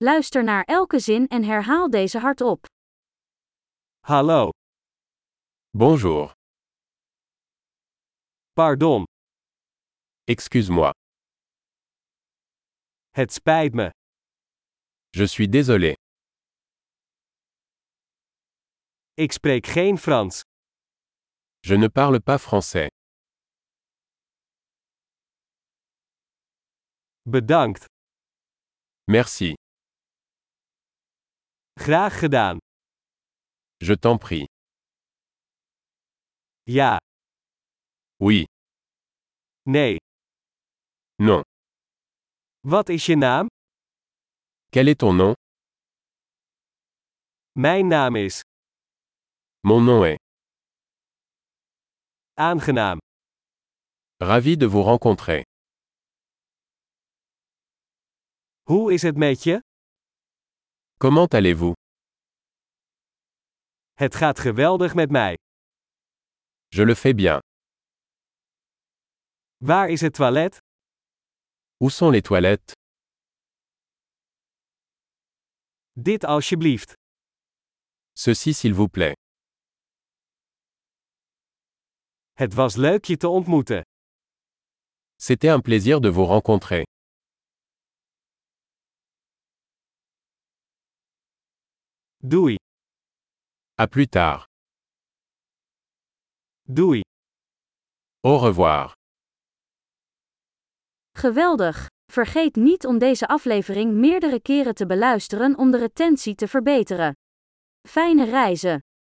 Luister naar elke zin en herhaal deze hardop. Hallo. Bonjour. Pardon. Excuse-moi. Het spijt me. Je suis désolé. Ik spreek geen Frans. Je ne parle pas français. Bedankt. Merci. Graag gedaan. Je t'en prie. Ja. Oui. Nee. Non. Wat is je naam? Quel est ton nom? Mijn naam is. Mon nom est. Aangenaam. Ravi de vous rencontrer. Hoe is het met je? Comment allez-vous? Het gaat geweldig met mij. Je le fais bien. Waar is het toilet? Où sont les toilettes? Dit alsjeblieft. Ceci s'il vous plaît. Het was leuk je te ontmoeten. C'était un plaisir de vous rencontrer. Doei. À plus tard. Doei. Au revoir. Geweldig! Vergeet niet om deze aflevering meerdere keren te beluisteren om de retentie te verbeteren. Fijne reizen!